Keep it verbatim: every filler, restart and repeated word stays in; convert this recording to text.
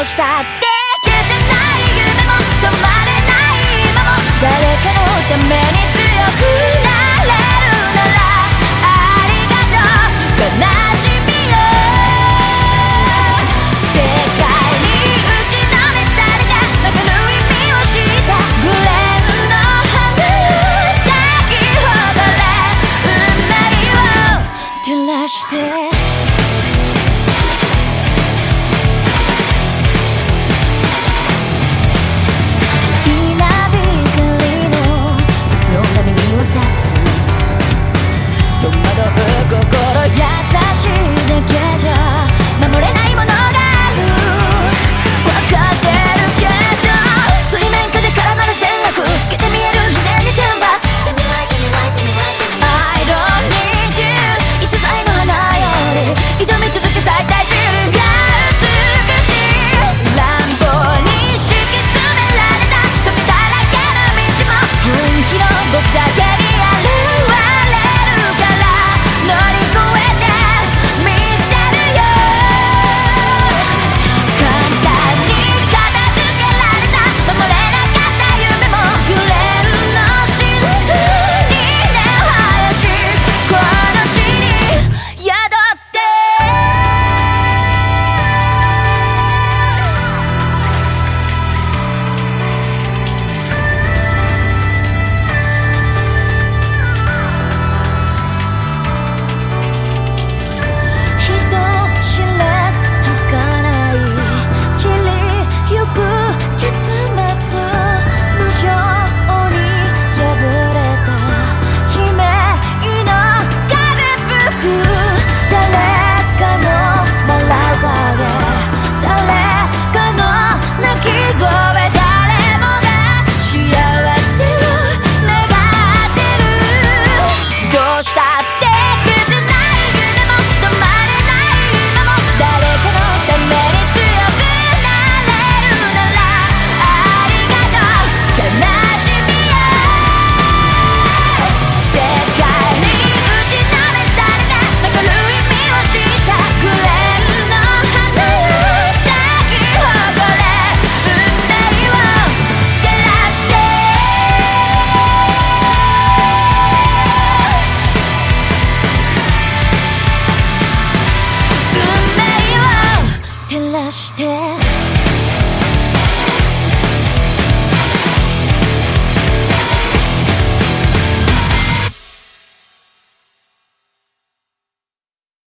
うしたって消せない夢も止まれない今も誰かのために強くなれるならありがとう悲しみよ世界に打ちのめされたわかる意味をしたグレーの花咲き誇れ運命を照らして心優しいだけじゃ守れないものがある分かってるけど水面下で絡まる善悪透けて見える偽善に天罰 I don't need you いつさえの花より挑み続け咲いた自分が美しい乱暴に敷き詰められた時だらけの道も本気の僕だけにあるして